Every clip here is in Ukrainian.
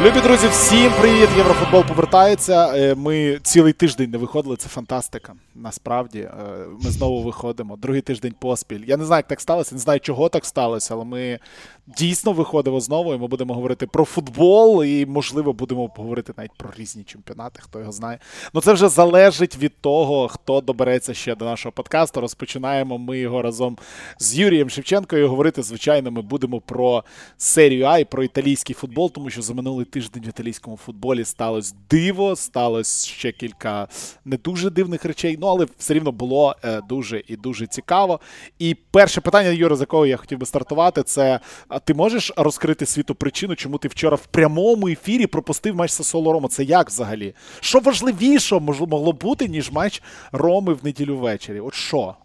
Любі друзі, всім привіт! Єврофутбол повертається. Ми цілий тиждень не виходили, це фантастика. Насправді, ми знову виходимо. Другий тиждень поспіль. Я не знаю, як так сталося, не знаю, чого так сталося, але ми дійсно виходимо знову, і ми будемо говорити про футбол, і, можливо, будемо говорити навіть про різні чемпіонати, хто його знає. Ну, це вже залежить від того, хто добереться ще до нашого подкасту. Розпочинаємо ми його разом з Юрієм Шевченкою. Говорити, звичайно, ми будемо про серію А і про італійський футбол, тому що за минулий тиждень в італійському футболі сталося диво, сталося ще кілька не дуже дивних речей, ну, але все рівно було дуже і дуже цікаво. І перше питання, Юра, з якого я хотів би стартувати, це ти можеш розкрити світу причину, чому ти вчора в прямому ефірі пропустив матч Сассуоло Рома? Це як взагалі? Що важливіше могло бути, ніж матч Роми в неділю ввечері? От що?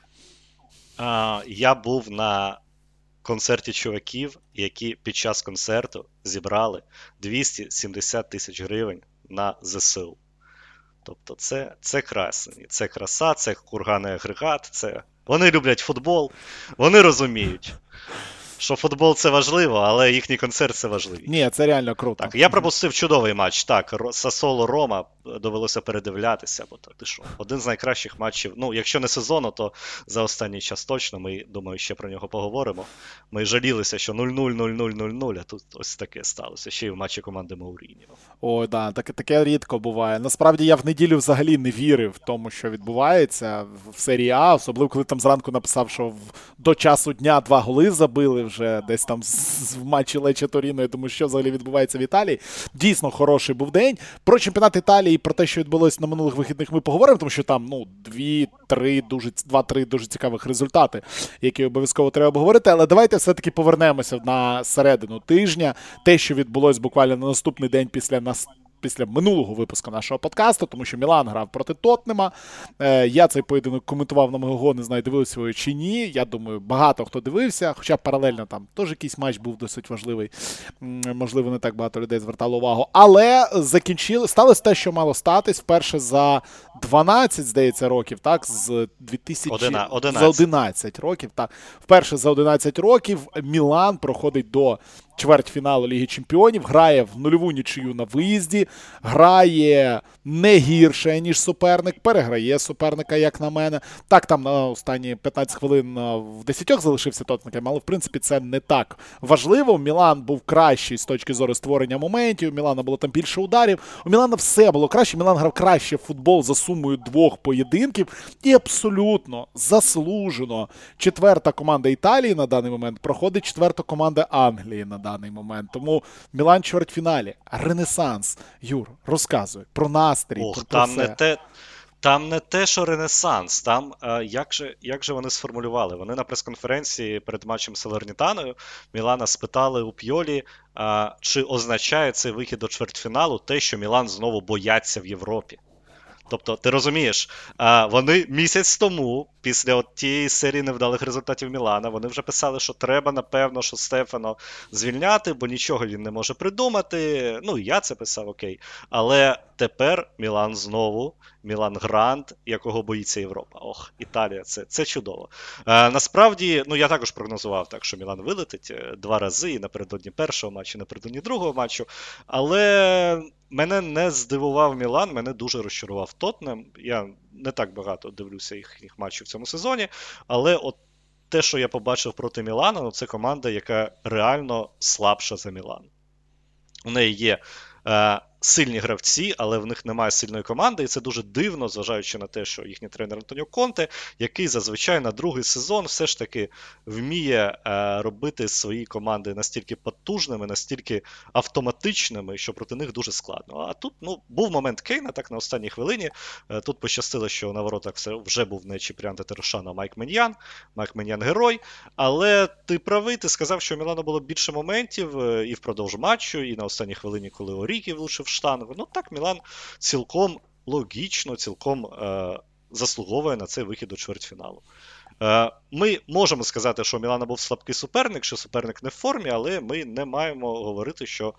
Я був на концерті чуваків, які під час концерту зібрали 270 тисяч гривень на ЗСУ. Тобто це красень, це краса, це курганний агрегат, це... Вони люблять футбол, вони розуміють, що футбол це важливо, але їхній концерт це важливо. Ні, це реально круто. Так, я пропустив чудовий матч. Так, Сассуоло Рома довелося передивлятися, бо ти що, один з найкращих матчів, ну, якщо не сезону, то за останній час точно, ми, думаю, ще про нього поговоримо. Ми жалілися, що 0-0, а тут ось таке сталося, ще й в матчі команди Мауріньо. Ой, да, таке рідко буває. Насправді я в неділю взагалі не вірив тому, що відбувається в серії А, особливо коли там зранку написав, що до часу дня 2 голи забили вже десь там в матчі Лече Торіно. Я думаю, що взагалі відбувається в Італії. Дійсно хороший був день. Про чемпіонат Італії і про те, що відбулося на минулих вихідних, ми поговоримо, тому що там 2-3 дуже цікавих результати, які обов'язково треба обговорити. Але давайте все-таки повернемося на середину тижня. Те, що відбулося буквально на наступний день після минулого випуску нашого подкасту, тому що Мілан грав проти Тоттенема. Я цей поєдинок коментував на Мегого, не знаю, дивилися ви чи ні. Я думаю, багато хто дивився, хоча паралельно там теж якийсь матч був досить важливий. Можливо, не так багато людей звертало увагу. Але сталося те, що мало статись. Вперше за 12, здається, років, так, з 11 років, так. Вперше за 11 років Мілан проходить до чвертьфіналу Ліги Чемпіонів, грає в нульову нічию на виїзді, грає не гірше, ніж суперник, переграє суперника, як на мене. Так, там на останні 15 хвилин в 10 залишився Тоттенхем, але, в принципі, це не так важливо. Мілан був кращий з точки зору створення моментів, у Мілана було там більше ударів, у Мілана все було краще, Мілан грав краще в футбол за сумою 2 поєдинків і абсолютно заслужено четверта команда Італії на даний момент проходить четверта команда Англії на даний момент. Тому Мілан в чвертьфіналі. Ренесанс. Юр, розказуй про настрій, про там все. Там не те, що ренесанс, там як же вони сформулювали? Вони на прес-конференції перед матчем з Салернітаною Мілана спитали у П'йолі, чи означає цей вихід до чвертьфіналу те, що Мілан знову бояться в Європі. Тобто, ти розумієш, вони місяць тому, після тієї серії невдалих результатів Мілана, вони вже писали, що треба, напевно, що Стефано звільняти, бо нічого він не може придумати. Ну, я це писав, окей. Але тепер Мілан знову, Мілан Гранд, якого боїться Європа. Ох, Італія, це чудово. Насправді, ну, я також прогнозував так, що Мілан вилетить 2 рази, і напередодні першого матчу, і напередодні другого матчу. Але мене не здивував Мілан, мене дуже розчарував Тоттенем. Я не так багато дивлюся їхніх матчів в цьому сезоні, але от те, що я побачив проти Мілана, ну, це команда, яка реально слабша за Мілан. У неї є сильні гравці, але в них немає сильної команди, і це дуже дивно, зважаючи на те, що їхній тренер Антоніо Конте, який зазвичай на другий сезон все ж таки вміє робити свої команди настільки потужними, настільки автоматичними, що проти них дуже складно. А тут, ну, був момент Кейна, так, на останній хвилині. Тут пощастило, що на воротах вже був не Чіпріан Тетерошан, а Майк Меньян. Майк Меньян герой. Але ти правий, ти сказав, що у Мілана було більше моментів і впродовж матчу, і на останній хвилині, коли Орігі влучив штангу. Ну так, Мілан цілком логічно, цілком заслуговує на цей вихід до чвертьфіналу. Ми можемо сказати, що у Мілана був слабкий суперник, що суперник не в формі, але ми не маємо говорити, що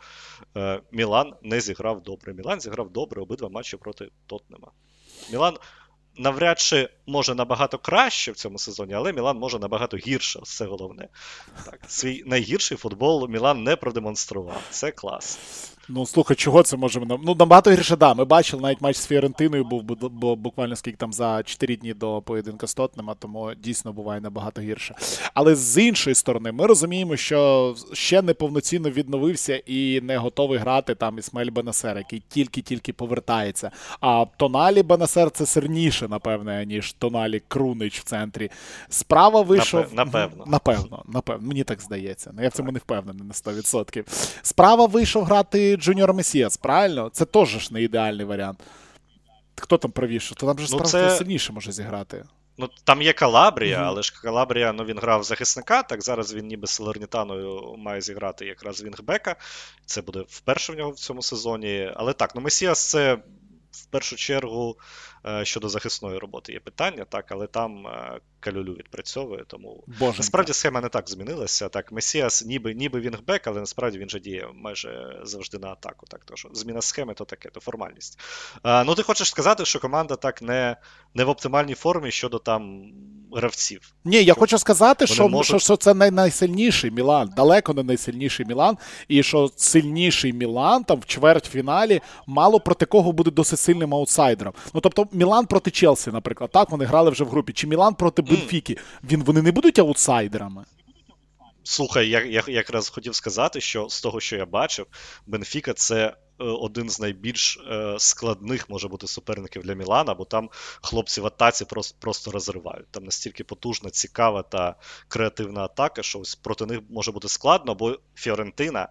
Мілан не зіграв добре. Мілан зіграв добре обидва матчі проти Тоттенема. Мілан навряд чи може набагато краще в цьому сезоні, але Мілан може набагато гірше, це головне. Так, свій найгірший футбол Мілан не продемонстрував. Це клас. Ну, слухай, чого це можемо? Ну, набагато гірше, да. Ми бачили, навіть матч з Фіорентиною був буквально скільки там за 4 дні до поєдинка з Тоттенхемом, тому дійсно буває набагато гірше. Але з іншої сторони, ми розуміємо, що ще не повноцінно відновився і не готовий грати там Ісмаель Бенасер, який тільки-тільки повертається. А Тоналі Бенасер це сильніше, напевне, ніж Тоналі Крунич в центрі. Справа вийшов... Напевно. Мені так здається. Я в цьому не впевнений на 100%. Справа вийшов грати Джуніор Месіас, правильно? Це теж ж не ідеальний варіант. Хто там правіше? То там же справа сильніше може зіграти. Ну, там є Калабрія, але ж Калабрія, ну, він грав захисника, так зараз він ніби з Салернітаною має зіграти якраз вінгбека. Це буде вперше в нього в цьому сезоні. Але так, ну Месіас це в першу чергу щодо захисної роботи є питання, так, але там Калюлю відпрацьовує, тому насправді схема не так змінилася. Так, Месіас ніби вінгбек, але насправді він же діє майже завжди на атаку. Так, то що зміна схеми то таке, то формальність. Ну, ти хочеш сказати, що команда так не в оптимальній формі щодо там гравців? Ні, я хочу сказати, що це найсильніший Мілан, далеко не найсильніший Мілан, і що сильніший Мілан там в чвертьфіналі мало проти кого буде досить сильним аутсайдером. Ну, тобто Мілан проти Челсі, наприклад, так, вони грали вже в групі, чи Мілан проти Бенфіки, вони не будуть аутсайдерами? Слухай, я якраз хотів сказати, що з того, що я бачив, Бенфіка – це один з найбільш складних, може бути, суперників для Мілана, бо там хлопці в атаці просто розривають. Там настільки потужна, цікава та креативна атака, що ось проти них може бути складно, бо Фіорентина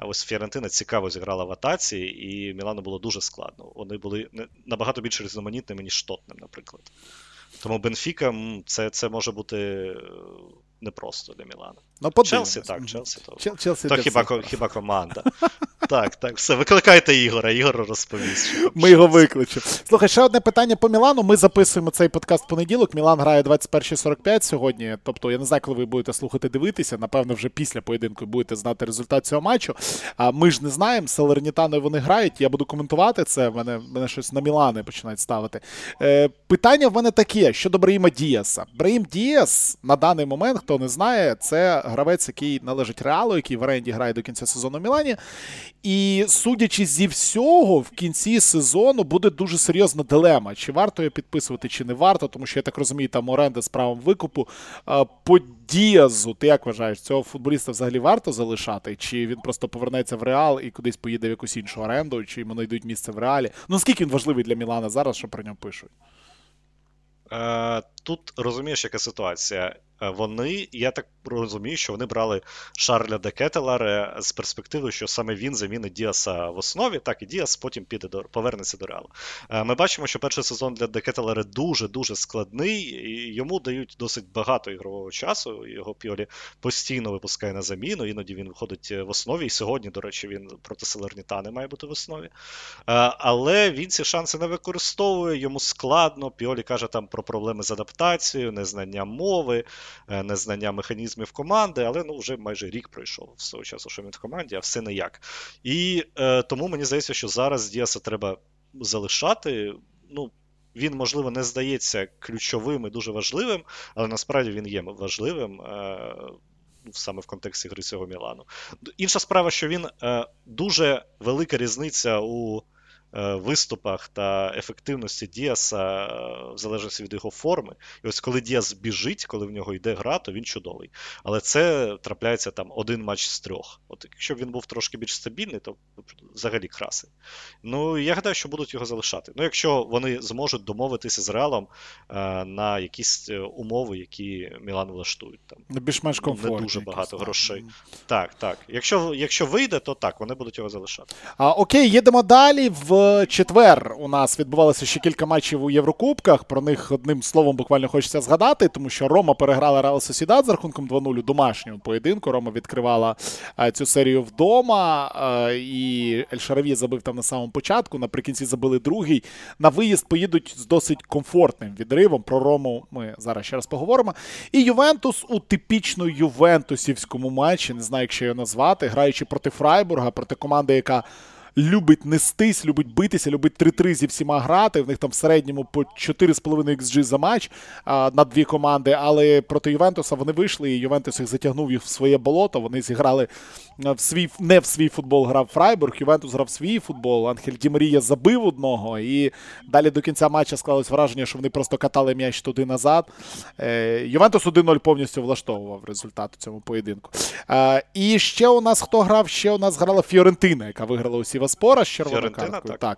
цікаво зіграла в атаці, і Мілану було дуже складно. Вони були набагато більш різноманітними, ніж Тоттенхем, наприклад. Тому Бенфіка це може бути непросто для Мілана. Ну, Челсі так, Челсі то хіба команда. Так, все, викликайте Ігора, Ігор розповість. Ми його викличемо. Слухай, ще одне питання по Мілану. Ми записуємо цей подкаст в понеділок. Мілан грає 21:45 сьогодні. Тобто, я не знаю, коли ви будете слухати, дивитися. Напевно, вже після поєдинку будете знати результат цього матчу. А ми ж не знаємо, з Салернітаною вони грають. Я буду коментувати це. Мене щось на Мілани починають ставити. Питання в мене таке, щодо Браїма Діаса. Браїм Діас, на даний момент, хто не знає, це гравець, який належить Реалу, який в оренді грає до кінця сезону в Мілані. І, судячи зі всього, в кінці сезону буде дуже серйозна дилема. Чи варто його підписувати, чи не варто, тому що, я так розумію, там оренда з правом викупу. По Діазу, ти як вважаєш, цього футболіста взагалі варто залишати? Чи він просто повернеться в Реал і кудись поїде в якусь іншу оренду, чи йому знайдуть місце в Реалі? Ну, скільки він важливий для Мілана зараз, що про нього пишуть? Тут розумієш, яка ситуація. Я так розумію, що вони брали Шарля де Кетеларе з перспективою, що саме він замінить Діаса в основі, так і Діас потім повернеться до Реалу. Ми бачимо, що перший сезон для де Кетеларе дуже-дуже складний, і йому дають досить багато ігрового часу, його Піолі постійно випускає на заміну, іноді він виходить в основі, і сьогодні, до речі, він проти Салернітани має бути в основі. Але він ці шанси не використовує, йому складно, Піолі каже там про проблеми з адаптацією, незнання мови, незнання механізмів команди, але вже майже рік пройшов з того часу, що він в команді, а все ніяк. І тому мені здається, що зараз Діаса треба залишати. Ну, він, можливо, не здається ключовим і дуже важливим, але насправді він є важливим саме в контексті гри цього Мілану. Інша справа, що він дуже велика різниця у виступах та ефективності Діаса в залежності від його форми. І ось коли Діас біжить, коли в нього йде гра, то він чудовий. Але це трапляється там один матч з 3. От якщо б він був трошки більш стабільний, то взагалі красень. Ну, я гадаю, що будуть його залишати. Ну, якщо вони зможуть домовитися з Реалом на якісь умови, які Мілан влаштують. Там більш-менш комфортні. Не дуже багато грошей. Так. Якщо вийде, то так, вони будуть його залишати. Окей, їдемо далі. В четвер у нас відбувалося ще кілька матчів у Єврокубках. Про них одним словом буквально хочеться згадати, тому що Рома переграла Реал Сосідад з рахунком 2-0 у домашньому поєдинку. Рома відкривала цю серію вдома, і Ель-Шараві забив там на самому початку, наприкінці забили другий. На виїзд поїдуть з досить комфортним відривом. Про Рому ми зараз ще раз поговоримо. І Ювентус у типічно ювентусівському матчі, не знаю, як ще його назвати, граючи проти Фрайбурга, проти команди, яка любить нестись, любить битися, любить 3-3 зі всіма грати. В них там в середньому по 4,5 XG за матч на дві команди, але проти Ювентуса вони вийшли, і Ювентус їх затягнув їх в своє болото. Вони зіграли не в свій футбол грав Фрайбург, Ювентус грав свій футбол, Анхель Ді Марія забив одного, і далі до кінця матча склалось враження, що вони просто катали м'яч туди-назад. Ювентус 1-0 повністю влаштовував результат у цьому поєдинку. І ще у нас хто грав? Ще у нас грала Фіорентина, яка виграла у Сіваспора з червоною карткою. Так.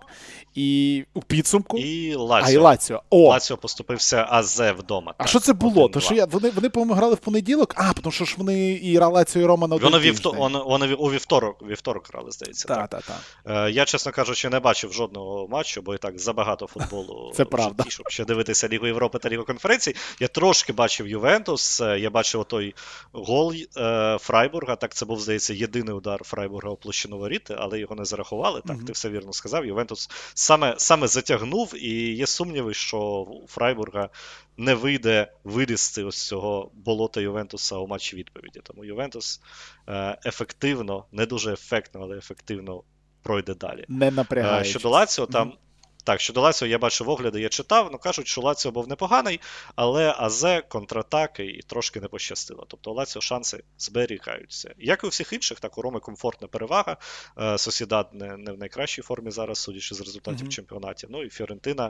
І у підсумку. І Лаціо. І Лаціо. Лаціо поступився АЗ вдома. А що це було? То, що вони, по-моєму, грали в понеділок? Тому що ж вони і Лаціо, і Рома на один тиждень. Вони у вівторок грали, здається. Так. Я, чесно кажучи, не бачив жодного матчу, бо і так забагато футболу це правда. Щоб ще дивитися Лігу Європи та Лігу конференцій. Я трошки бачив Ювентус, я бачив той гол Фрайбурга, так це був, здається, єдиний удар Фрайбурга у площину воріт, але його не зарахували, так, ти все вірно сказав. Ювентус саме затягнув, і є сумніви, що у Фрайбурга не вийде вилізти ось цього болота Ювентуса у матчі відповіді. Тому Ювентус ефективно, не дуже ефектно, але ефективно пройде далі. Не напрягаючись. Щодо Лаціо, там Так, щодо Лаціо я бачив огляди, я читав, кажуть, що Лаціо був непоганий, але АЗ, контратаки і трошки не пощастило. Тобто у Лаціо шанси зберігаються. Як і у всіх інших, так у Роми комфортна перевага. Сосідад не в найкращій формі зараз, судячи з результатів чемпіонатів. Ну і Фіорентина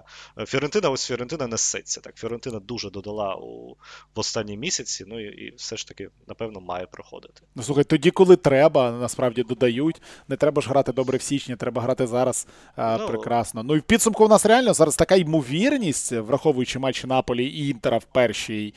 несеться. Так, Фіорентина дуже додала в останні місяці, і все ж таки, напевно, має проходити. Ну, слухай, тоді, коли треба, насправді додають. Не треба ж грати добре в січні, треба грати зараз прекрасно. Ну і в підсумку у нас реально зараз така ймовірність, враховуючи матчі Наполі і Інтера в першій,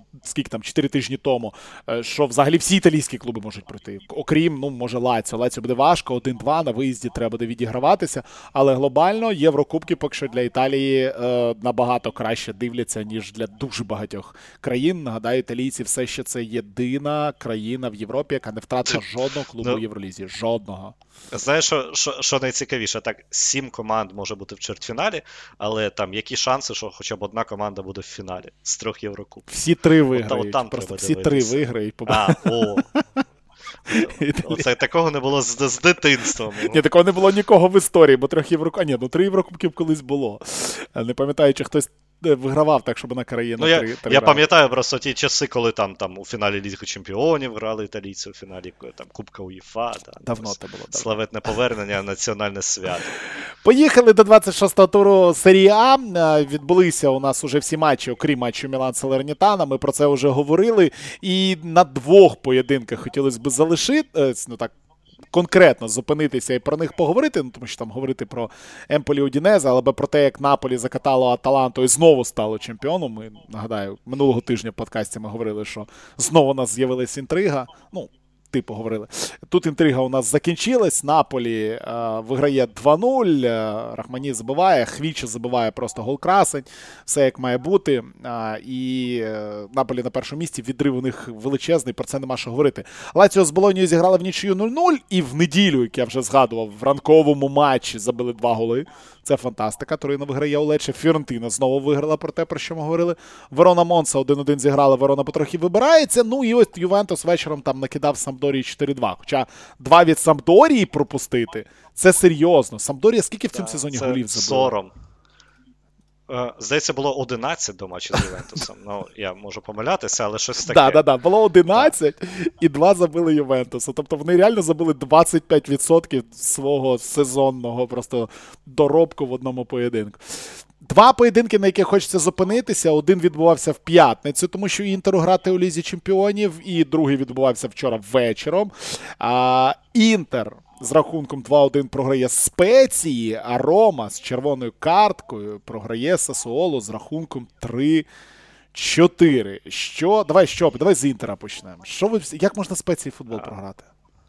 4 тижні тому, що взагалі всі італійські клуби можуть пройти. Окрім, може, Лаціо. Лаціо буде важко, 1-2, на виїзді треба буде відіграватися, але глобально Єврокубки поки що для Італії набагато краще дивляться, ніж для дуже багатьох країн. Нагадаю, італійці все ще це єдина країна в Європі, яка не втратила жодного клубу в Євролізі. Жодного. Знаєш, що найцікавіше? Так, 7 команд може бути в чвертьфіналі, але там які шанси, що хоча б одна команда буде в фіналі з 3 Єврокубків? Всі 3 виграють. Просто всі 3 виграють. Оце такого не було з дитинства. Ні, такого не було нікого в історії, бо 3 Єврокубків. 3 Єврокубків колись було. Не пам'ятаю, чи хтось вигравав так, щоб на країну 3 я пам'ятаю просто ті часи, коли там у фіналі Ліги Чемпіонів грали італійці, у фіналі Кубка УЄФА. Давно це було. Славетне повернення, національне свято. Поїхали до 26-го туру Серії А. Відбулися у нас уже всі матчі, окрім матчу Мілан-Салернітана. Ми про це вже говорили. І на 2 поєдинках хотілося б залишити, конкретно зупинитися і про них поговорити, тому що там говорити про Емполі Удінезе, але про те, як Наполі закатало Аталанту і знову стало чемпіоном. Ми, нагадаю, минулого тижня в подкасті ми говорили, що знову у нас з'явилась інтрига. Говорили. Тут інтрига у нас закінчилась. Наполі виграє 2-0. Рахмані забиває, Хвіча забиває просто гол-красень. Все як має бути. І Наполі на першому місці. Відрив у них величезний, про це нема що говорити. Лаціо з Болонією зіграла в нічию 0-0. І в неділю, як я вже згадував, в ранковому матчі забили 2 голи. Це фантастика. Торино виграє у Лечче. Фіорентина знову виграла про те, про що ми говорили. Верона-Монса 1-1 зіграла. Верона потрохи вибирається. І ось Ювентус вечором там накидав Самдорії 4-2. Хоча 2 від Самдорії пропустити – це серйозно. Самдорія скільки в цьому сезоні голів забила? Сором. Здається, було 11 до матчу з Ювентусом. Я можу помилятися, але щось таке. Так. Було 11 і 2 забили Ювентусу. Тобто вони реально забили 25% свого сезонного просто доробку в одному поєдинку. 2 поєдинки, на яких хочеться зупинитися. Один відбувався в п'ятницю, тому що Інтеру грати у Лізі Чемпіонів, і другий відбувався вчора вечором. Інтер з рахунком 2-1 програє Спеції, а Рома з червоною карткою програє Сасуолу з рахунком 3-4. Давай з Інтера почнемо. Як можна Спеції футбол програти?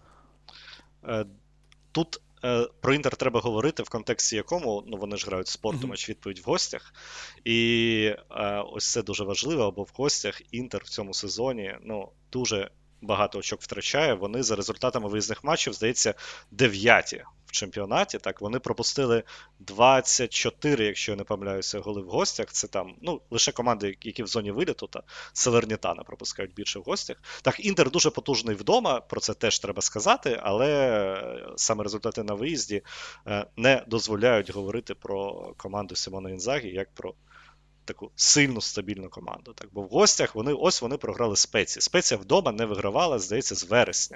Тут про Інтер треба говорити в контексті якому, вони ж грають спорту, матч-відповідь в гостях. І ось це дуже важливо, бо в гостях Інтер в цьому сезоні, дуже багато очок втрачає. Вони за результатами виїзних матчів, здається, 9-ті в чемпіонаті. Так, вони пропустили 24, якщо я не помиляюся, голи в гостях. Це там, лише команди, які в зоні виліту, та Салернітана пропускають більше в гостях. Так, Інтер дуже потужний вдома, про це теж треба сказати, але саме результати на виїзді не дозволяють говорити про команду Сімона Інзагі як про таку сильну, стабільну команду. Так, бо в гостях вони програли Спеції. Спеція вдома не вигравала, здається, з вересня.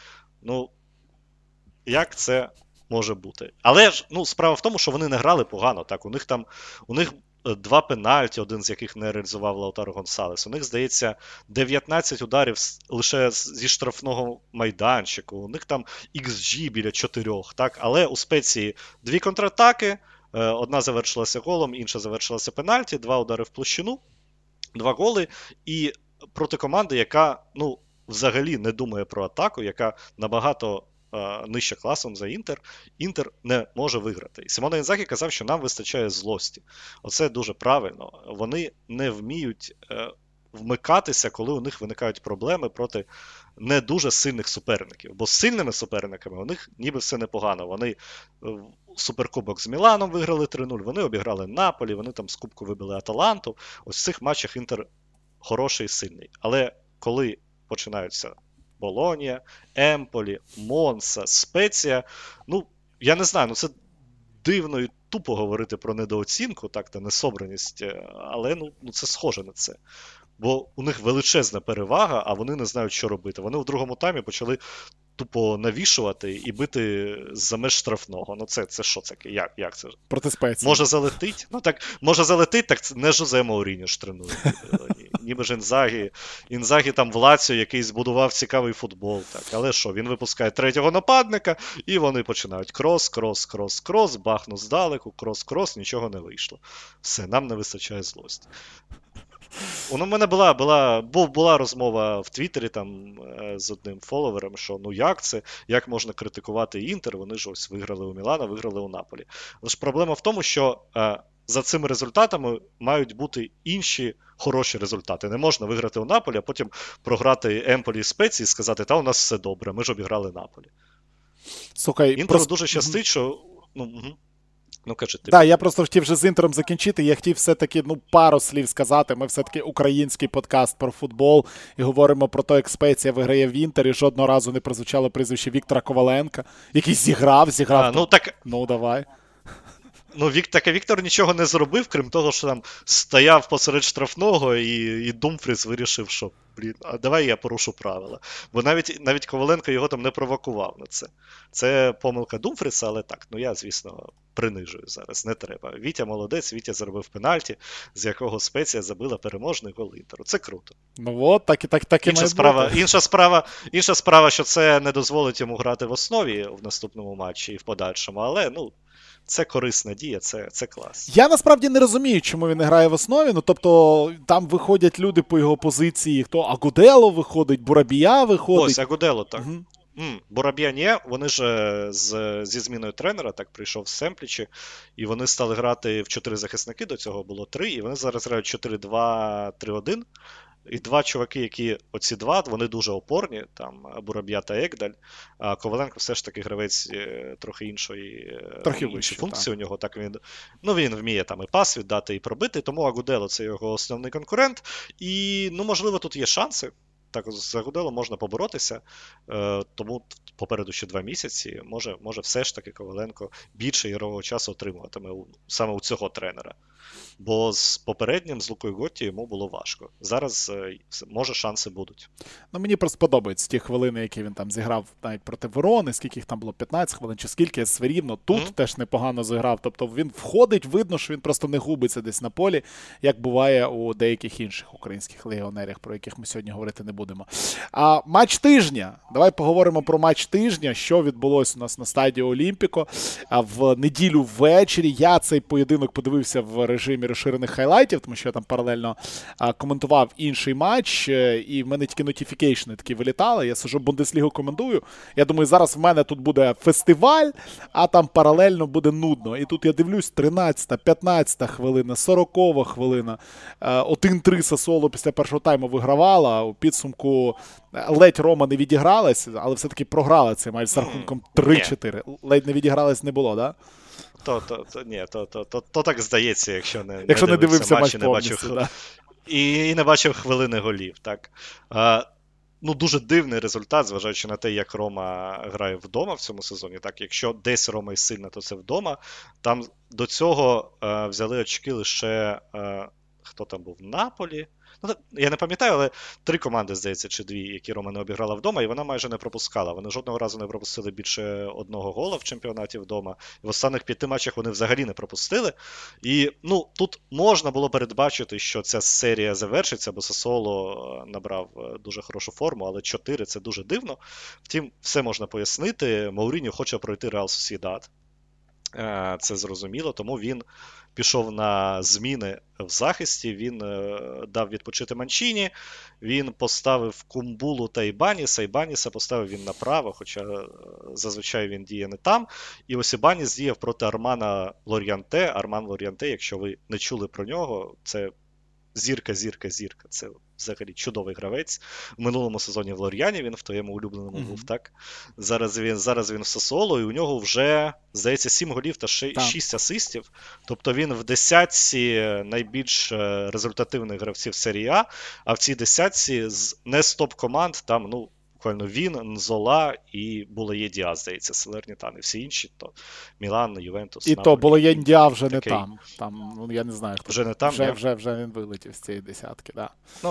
Як це може бути? Але ж, справа в тому, що вони не грали погано. Так, у них 2 пенальті, один з яких не реалізував Лаутаро Гонсалес. У них, здається, 19 ударів лише зі штрафного майданчику. У них там XG біля 4. Так? Але у Спеції 2 контратаки, одна завершилася голом, інша завершилася пенальті, 2 удари в площину, 2 голи. І проти команди, яка, взагалі не думає про атаку, яка набагато нижче класом за Інтер, Інтер не може виграти. І Симоне Інзагі казав, що нам вистачає злості. Оце дуже правильно. Вони не вміють вмикатися, коли у них виникають проблеми проти не дуже сильних суперників. Бо з сильними суперниками у них ніби все непогано. Вони суперкубок з Міланом виграли 3-0, вони обіграли Наполі, вони там з кубку вибили Аталанту. Ось в цих матчах Інтер хороший і сильний. Але коли починаються Болонія, Емполі, Монса, Спеція, я не знаю, це дивно і тупо говорити про недооцінку, так, та несобраність, але це схоже на це. Бо у них величезна перевага, а вони не знають, що робити. Вони в другому таймі почали тупо навішувати і бити за меж штрафного. Це що таке? Як це? Проти Спеції. Може залетить? Може залетить, так це не Жозе Мауріньо ж тренує. Ніби ж Інзагі там в Лаціо, який збудував цікавий футбол. Так. Але що, він випускає 3-го нападника, і вони починають крос, бахну здалеку, крос, нічого не вийшло. Все, нам не вистачає злості. У мене була розмова в Твіттері там з одним фоловером, що як це, як можна критикувати Інтер, вони ж ось виграли у Мілана, виграли у Наполі. Але ж проблема в тому, що за цими результатами мають бути інші хороші результати. Не можна виграти у Наполі, а потім програти Емполі і Спеції і сказати, та у нас все добре, ми ж обіграли Наполі. Слухай, Інтеру дуже щастить, що... кажи ти. Так, я просто хотів вже з Інтером закінчити. Я хотів все-таки пару слів сказати. Ми все-таки український подкаст про футбол і говоримо про те, як Спеція виграє в Інтері. Жодного разу не прозвучало прізвище Віктора Коваленка, який зіграв. Давай. Віктор нічого не зробив, крім того, що там стояв посеред штрафного і Думфріс вирішив, що, давай я порушу правила. Бо навіть Коваленко його там не провокував на це. Це помилка Думфріса, але так, я, звісно, принижую зараз, не треба. Вітя молодець, Вітя заробив пенальті, з якого Спеція забила переможний гол Інтеру. Це круто. Так і інша справа, що це не дозволить йому грати в основі в наступному матчі і в подальшому, але, це корисна дія, це клас. Я насправді не розумію, чому він не грає в основі. Тобто, там виходять люди по його позиції. Хто? Агудело виходить, Бурабія виходить. Ось, Агудело, так. Угу. Бурабія ні, вони ж зі зміною тренера, так, прийшов з Семплічі, і вони стали грати в 4 захисники, до цього було 3, і вони зараз грають 4-2-3-1. І 2 чуваки, які оці 2, вони дуже опорні, там Бураб'я та Егдаль, а Коваленко все ж таки гравець трохи іншої функції у нього. Так він вміє там і пас віддати, і пробити, тому Агудело це його основний конкурент, і, можливо, тут є шанси. Так, з Агудело можна поборотися, тому попереду ще 2 місяці, може все ж таки Коваленко більше ігрового часу отримуватиме саме у цього тренера. Бо з попереднім, з Лукою Готті, йому було важко. Зараз, може, шанси будуть. Мені просто подобаються ті хвилини, які він там зіграв навіть проти Верони, скільки їх там було, 15 хвилин чи скільки, все рівно тут теж непогано зіграв. Тобто він входить, видно, що він просто не губиться десь на полі, як буває у деяких інших українських легіонерів, про яких ми сьогодні говорити не будемо. А матч тижня. Давай поговоримо про матч тижня, що відбулося у нас на стадії Олімпіко. В неділю ввечері я цей поєдинок подивився в режимі розширених хайлайтів, тому що я там паралельно коментував інший матч, і в мене тільки нотіфікейшни такі вилітали. Я сижу Бундеслігу коментую. Я думаю, зараз в мене тут буде фестиваль, а там паралельно буде нудно. І тут я дивлюсь, 13-та, 15-та хвилина, 40-та хвилина. 1-3 Сасуоло після першого тайму вигравала. У підсумку ледь Рома не відігралась, але все-таки програла цей матч з рахунком 3-4. Ледь не відігралась не було, да? То так здається, якщо не дивився матч і не бачив, да. і не бачив хвилини голів. Так. Дуже дивний результат, зважаючи на те, як Рома грає вдома в цьому сезоні. Так, якщо десь Рома і сильна, то це вдома. Там до цього взяли очки лише хто там був? Наполі. Я не пам'ятаю, але 3 команди, здається, чи 2, які Рома не обіграла вдома, і вона майже не пропускала. Вони жодного разу не пропустили більше 1 гола в чемпіонаті вдома. І в останніх 5 матчах вони взагалі не пропустили. І тут можна було передбачити, що ця серія завершиться, бо Сасуоло набрав дуже хорошу форму, але 4 – це дуже дивно. Втім, все можна пояснити. Мауріньо хоче пройти Реал Сосєдад. Це зрозуміло, тому він пішов на зміни в захисті, він дав відпочити Манчіні, він поставив Кумбулу та Ібаніса. Ібаніса поставив він направо, хоча зазвичай він діє не там. І ось Ібаніс діяв проти Армана Лор'янте. Арман Лор'янте, якщо ви не чули про нього, це зірка. Це взагалі чудовий гравець. В минулому сезоні в Лор'яні він в твоєму улюбленому був, так? Зараз він в Сасуоло, і у нього вже, здається, 7 голів та 6 асистів. Тобто він в десятці найбільш результативних гравців серії А в цій десятці не з топ-команд, там, буквально він, Нзола і Булає Діаз, здається, Салернітана. І всі інші, то Мілан, Ювентус, І Наполі. то Булає Діаз вже не там. Там, я не знаю, хто. Вже не там, вже він вилетів з цієї десятки, да.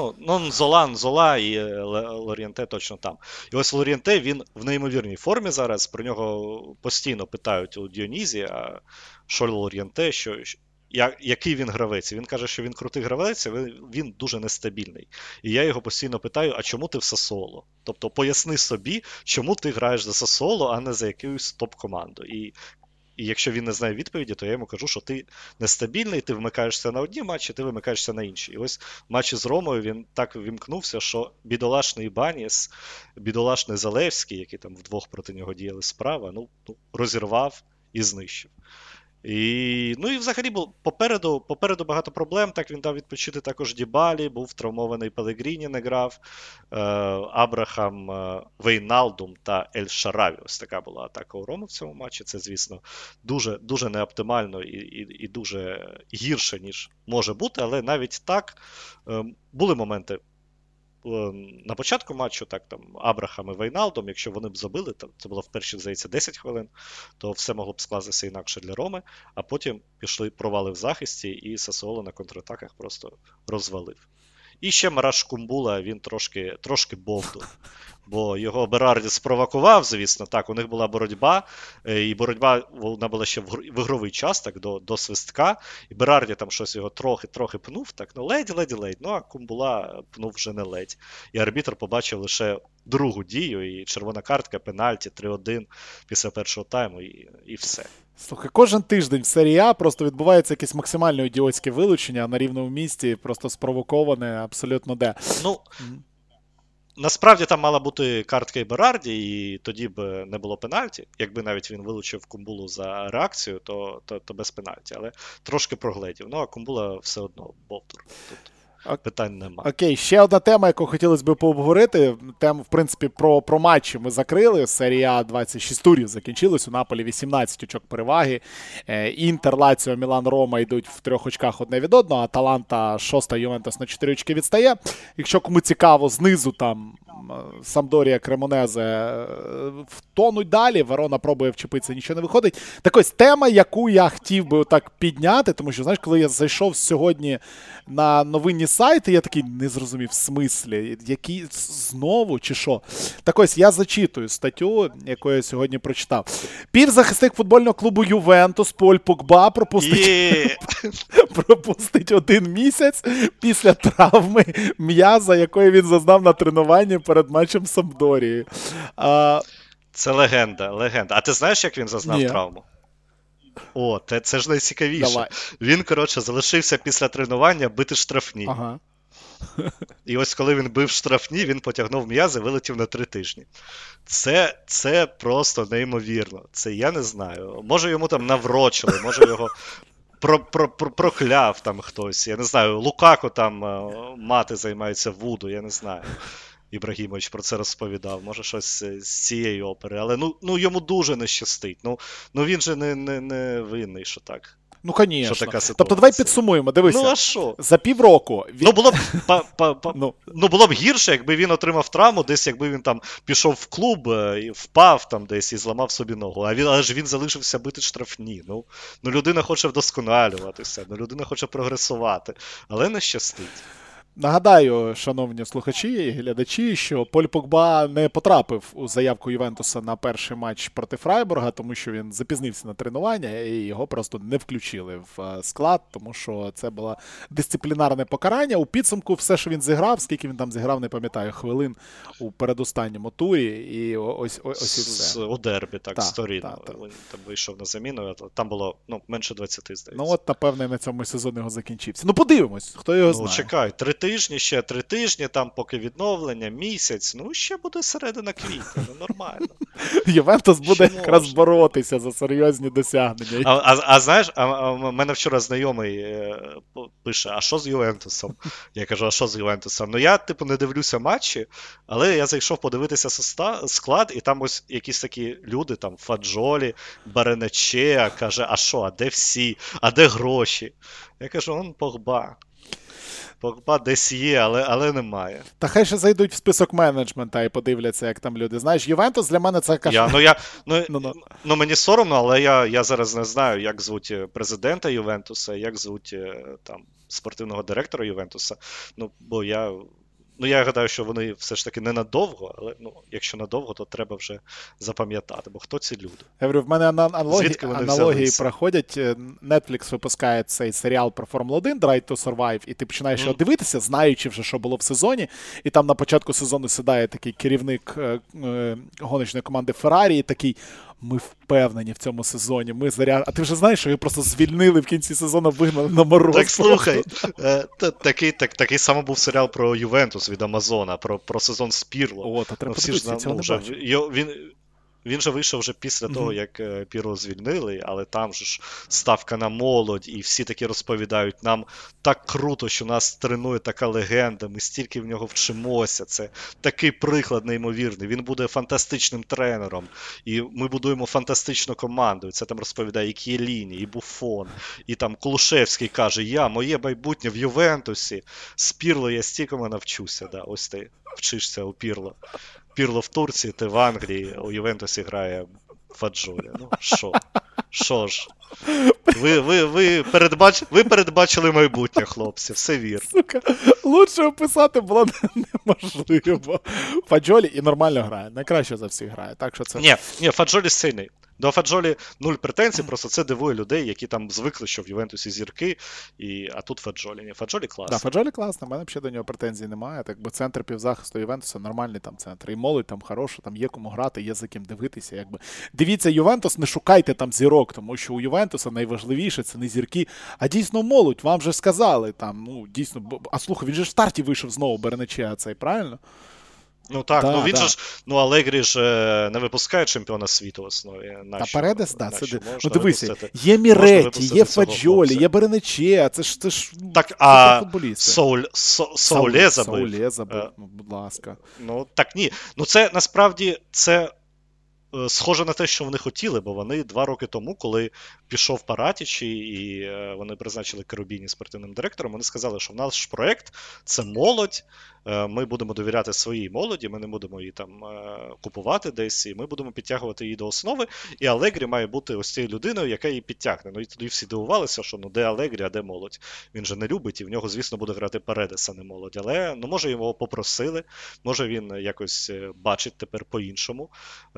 Нзола і Лор'янте точно там. І ось Лор'янте, він в неймовірній формі зараз. Про нього постійно питають у Діонізі, а що Лор'янте, який він гравець. Він каже, що він крутий гравець, але він дуже нестабільний. І я його постійно питаю, а чому ти в Сасуоло? Тобто поясни собі, чому ти граєш за Сасуоло, а не за якусь топ-команду. І якщо він не знає відповіді, то я йому кажу, що ти нестабільний, ти вмикаєшся на одні матчі, ти вимикаєшся на інші. І ось в матчі з Ромою він так вімкнувся, що бідолашний Ібаніс, бідолашний Залевський, які там вдвох проти нього діяли справа, розірвав і знищив. І взагалі попереду багато проблем. Так, він дав відпочити також Дібалі, був травмований Пелегріні, не грав. Абрахам, Вейналдум та Ель Шараві. Ось така була атака у Рому в цьому матчі. Це, звісно, дуже, дуже неоптимально і дуже гірше, ніж може бути. Але навіть так були моменти на початку матчу, так, там, Абрахам і Вейналдом, якщо вони б забили, це було в перші, здається, 10 хвилин, то все могло б скластися інакше для Роми, а потім пішли провали в захисті, і Сасуоло на контратаках просто розвалив. І ще Мараш Кумбула, він трошки бовдур. Бо його Берарді спровокував, звісно, так, у них була боротьба, і боротьба, вона була ще в ігровий час, так, до свистка, і Берарді там щось його трохи пнув, так, ледь, а Кумбула пнув вже не ледь. І арбітр побачив лише другу дію, і червона картка, пенальті, 3-1 після першого тайму, і все. Слухай, кожен тиждень в серії А просто відбувається якесь максимально ідіотське вилучення на рівному місці, просто спровоковане абсолютно де. Насправді там мала бути картка і Берарді, і тоді б не було пенальті. Якби навіть він вилучив Кумбулу за реакцію, то без пенальті. Але трошки прогледів. А Кумбула все одно бовдур. Тут питань немає. Окей, ще одна тема, яку хотілося б пообговорити. Тему, в принципі, про матчі ми закрили. Серія 26 турів закінчилась. У Наполі 18 очок переваги. Інтер, Лаціо, Мілан, Рома йдуть в 3 очках одне від одного. Аталанта 6-та, Ювентус на 4 очки відстає. Якщо кому цікаво, знизу там Самдорія, Кремонезе втонуть далі. Верона пробує вчепитися, нічого не виходить. Так ось, тема, яку я хотів би так підняти, тому що, знаєш, коли я зайшов сьогодні на новинні сайти, я такий не зрозумів в смислі, які знову чи що. Так ось, я зачитую статтю, яку я сьогодні прочитав. Півзахисник футбольного клубу Ювентус Поль Погба пропустить 1 місяць після травми м'яза, якої він зазнав на тренуванні перед матчем з Сампдорією. Це легенда. А ти знаєш, як він зазнав травму? О, це ж найцікавіше. Давай. Він, коротше, залишився після тренування бити штрафні. Ага. І ось коли він бив штрафні, він потягнув м'язи, вилетів на 3 тижні. Це просто неймовірно. Це я не знаю. Може йому там наврочили, може його прокляв там хтось. Я не знаю, Лукако там мати займається вуду, я не знаю. Ібрагімович про це розповідав, може щось з цієї опери. Але ну йому дуже не щастить. Ну він же не винний, що так. Ну, звісно. Що така ситуація. Тобто давай підсумуємо, дивися. Ну, а що? За півроку... Ну, було б гірше, якби він отримав травму, десь якби він там пішов в клуб і впав там десь і зламав собі ногу. Але ж він залишився бити штрафні. Ну, людина хоче вдосконалюватися, людина хоче прогресувати, але не щастить. Нагадаю, шановні слухачі і глядачі, що Поль Погба не потрапив у заявку Ювентуса на перший матч проти Фрайбурга, тому що він запізнився на тренування і його просто не включили в склад, тому що це було дисциплінарне покарання. У підсумку все, що він зіграв, скільки він там зіграв, не пам'ятаю, хвилин у передостанньому турі, і ось і все. У дербі, так, з Торіно. Він там вийшов на заміну, там було менше 20, здається. Ну от, напевне, на цьому сезон його закінчився. Ну подивимось, хто його знає. Ну чекай, 3 тижні, там поки відновлення, місяць, ще буде середина квітня, нормально. Ювентус буде якраз боротися за серйозні досягнення. А знаєш, в мене вчора знайомий пише, а що з Ювентусом? Я кажу, а що з Ювентусом? Ну я, не дивлюся матчі, але я зайшов подивитися склад, і там ось якісь такі люди, там, Фаджолі, Баренече, каже, а що, а де всі? А де гроші? Я кажу, он Погба. Погба десь є, але немає. Та хай ще зайдуть в список менеджмента і подивляться, як там люди. Знаєш, Ювентус для мене це кашмар. Мені соромно, але я зараз не знаю, як звуть президента Ювентуса, як звуть там спортивного директора Ювентуса. Бо я гадаю, що вони все ж таки не надовго, але якщо надовго, то треба вже запам'ятати, бо хто ці люди? Я говорю, в мене аналогії проходять. Netflix випускає цей серіал про Формулу-1 Drive to Survive, і ти починаєш його дивитися, знаючи вже, що було в сезоні, і там на початку сезону сідає такий керівник гоночної команди Феррарі, і такий, ми впевнені в цьому сезоні, А ти вже знаєш, що його просто звільнили в кінці сезону, вигнали на мороз. Так, слухай, такий самий був серіал про Ювентус від Амазона, про сезон з Пірло. О, та треба подивитися, цього не бачив. Він же вийшов вже після того, як Пірло звільнили, але там же ж ставка на молодь, і всі таки розповідають, нам так круто, що нас тренує така легенда, ми стільки в нього вчимося, це такий приклад неймовірний, він буде фантастичним тренером, і ми будуємо фантастичну команду, і це там розповідає і К'єліні, і Буфон, і там Кулушевський каже, моє майбутнє в Ювентусі, з Пірло я стількому навчуся, ось ти вчишся у Пірло. Пірло в Турції, ти в Англії, у Ювентусі грає Фаджолі. Що ж? Ви передбачили майбутнє, хлопці, все вірно. Сука, лучше описати було неможливо. Фаджолі і нормально грає, найкраще за всіх грає. Так що це... Ні, Фаджолі сильний. До Фаджолі нуль претензій, просто це дивує людей, які там звикли, що в Ювентусі зірки, а тут Фаджолі. Ні, Фаджолі класний. Так, Фаджолі класний, в мене взагалі до нього претензій немає. Так би центр півзахисту Ювентуса нормальний там центр. І молодь там хороша, там є кому грати, є за ким дивитися. Якби. Дивіться Ювентус, не шукайте там зірок, тому що у Ювентуса найважливіше це не зірки, а дійсно молодь. Вам же сказали там, дійсно. А слухай, він же в старті вийшов знову Бернече, цей, правильно? Ну так, він же ж, Алегрі ж не випускає чемпіона світу в основі. Та Передес, так, це дивися, є Міретті, є Фаджолі, є Бернече, це ж так, а Соуле забив. Будь ласка. Так, ні. Це, насправді, це схоже на те, що вони хотіли, бо вони 2 роки тому, коли пішов Паратічі і вони призначили Керубіні спортивним директором, вони сказали, що в наш проєкт – це молодь, ми будемо довіряти своїй молоді, ми не будемо її там купувати десь, і ми будемо підтягувати її до основи, і Алегрі має бути ось цією людиною, яка її підтягне. І тоді всі дивувалися, що де Алегрі, а де молодь. Він же не любить, і в нього, звісно, буде грати Передес, а не молодь. Але, може, його попросили, може, він якось бачить тепер по-іншому розвиток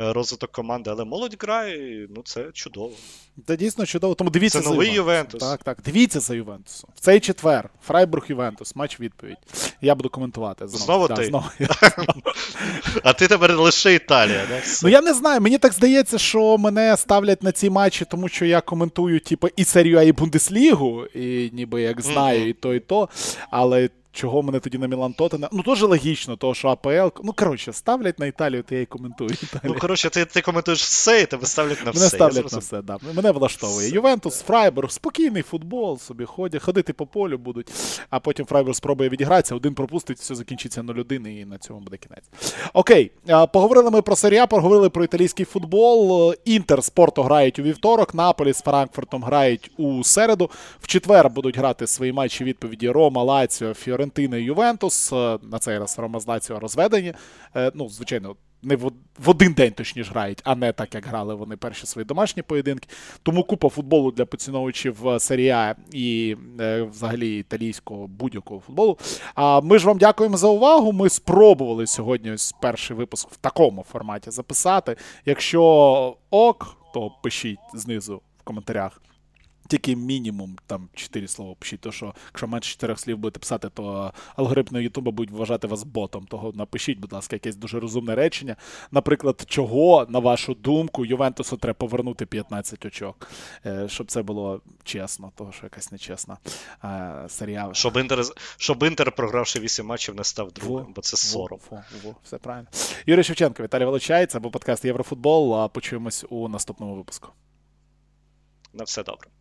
розвиток команди, але молодь грає, і, ну це чудово. Це дійсно чудово, тому дивіться Це за новий Ювентус. Ювентус. Так, дивіться за Ювентусом. В цей четвер Фрайбург-Ювентус, матч відповідь. Я буду коментувати знову. Знову Да, ти? знову. А ти тепер лише Італія, да? Ну я не знаю, мені так здається, що мене ставлять на ці матчі, тому що я коментую типу, і Серію А, і Бундеслігу, і ніби як знаю і то, але чого мене тоді на Мілан Тоттенхем? Ну, теж логічно, того, що АПЛ. Ну, коротше, ставлять на Італію, то я і коментую Італію. Ну, коротше, ти коментуєш все, і тебе ставлять на все. Мене ставлять на все, да. Мене влаштовує. Ювентус, Фрайбург, спокійний футбол, собі ходити по полю будуть, а потім Фрайбург спробує відігратися, один пропустить, все закінчиться 0-1 і на цьому буде кінець. Окей, поговорили ми про Серію А, поговорили про італійський футбол. Інтер з Порто грають у вівторок, Наполі з Франкфуртом грають у середу. В четвер будуть грати свої матчі відповіді Рома, Лаціо, Фіорентина і Ювентус. На цей раз Рома з Лаціо розведені. Ну, звичайно, не в один день точніше грають, а не так, як грали вони перші свої домашні поєдинки. Тому купа футболу для поціновувачів Серії А і взагалі італійського будь-якого футболу. А ми ж вам дякуємо за увагу. Ми спробували сьогодні ось перший випуск в такому форматі записати. Якщо ок, то пишіть знизу в коментарях. Тільки мінімум там 4 слова пишіть, то що якщо менше 4 слів будете писати, то алгоритми Ютуба будуть вважати вас ботом. Того напишіть, будь ласка, якесь дуже розумне речення. Наприклад, чого, на вашу думку, Ювентусу треба повернути 15 очок, щоб це було чесно, того що якась нечесна Серія. Щоб Інтер, програвши 8 матчів, не став другим, бо це сором. Все правильно. Юрій Шевченко, Віталій Волочаєць, або подкаст Єврофутбол. Почуємось у наступному випуску. На все добре.